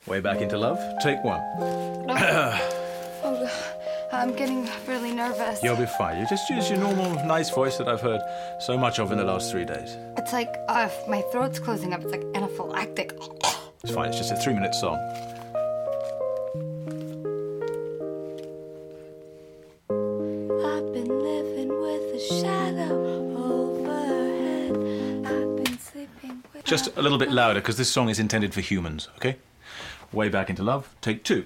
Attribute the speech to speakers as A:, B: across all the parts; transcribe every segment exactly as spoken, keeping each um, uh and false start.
A: Way back into love. Take one.
B: Oh, I'm getting really nervous.
A: You'll be fine. You just use your normal, nice voice that I've heard so much of in the last three days.
B: It's like uh, my throat's closing up. It's like anaphylactic.
A: It's fine. It's just a three-minute song.
B: I've been living with a shadow overhead. I've been sleeping with...
A: Just a little bit louder, because this song is intended for humans, okay? Way back into love. Take two.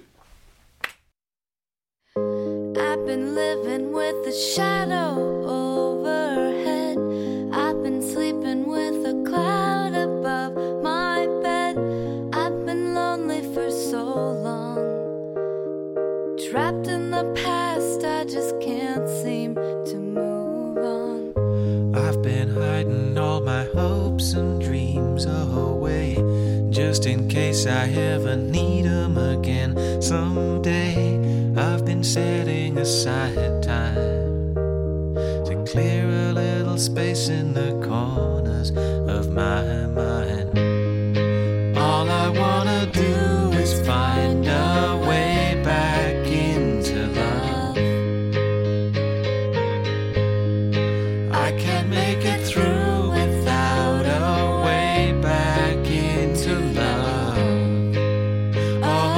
B: I've been living with a shadow overhead. I've been sleeping with a cloud above my bed. I've been lonely for so long. Trapped in the past, I just can't seem to move on.
C: I've been hiding all my hopes and dreams away, just in case I ever need them again someday. I've been setting aside time to clear a little space in the corners of my mind. All I wanna do is find a way back into love. I can't make it through without a way back into love. Oh,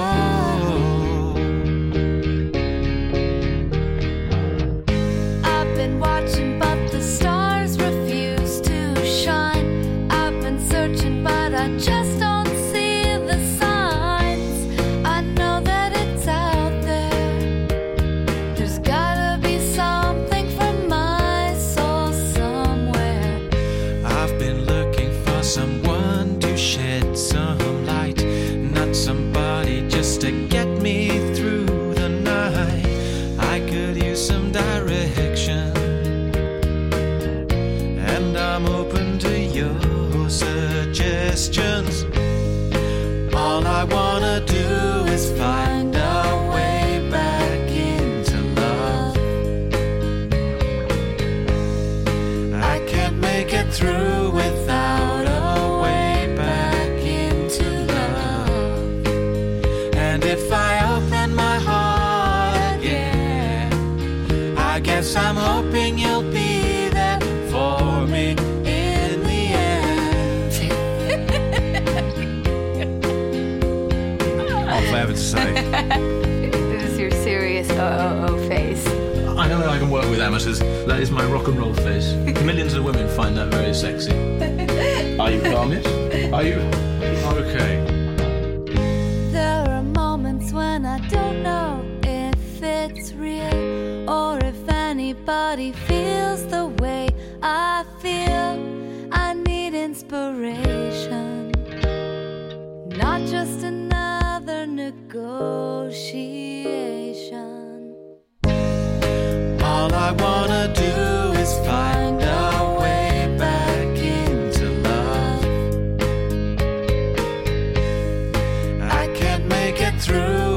B: I've been watching, but the stars refuse to shine. I've been searching, but I just don't see the signs. I know that it's out there. There's gotta be something for my soul somewhere.
C: I've been looking for someone to shed some light, not somebody just to get me through the night. I could use some direction, and I'm open to your suggestions. All I wanna do is find a way back into love. I can't make it through without a way back into love. And if I open my heart again, I guess I'm hoping you'll be there for me in the end.
A: All I have to say.
B: This is your serious O O O face.
A: I know that I can work with amateurs. That is my rock and roll face. Millions of women find that very sexy. Are you calm, yes? Are you? Okay.
B: There are moments when I don't know if it's real or if anybody feels the way I feel. I need inspiration, not just another negotiation.
C: All I wanna do is find a way back into love. I can't make it through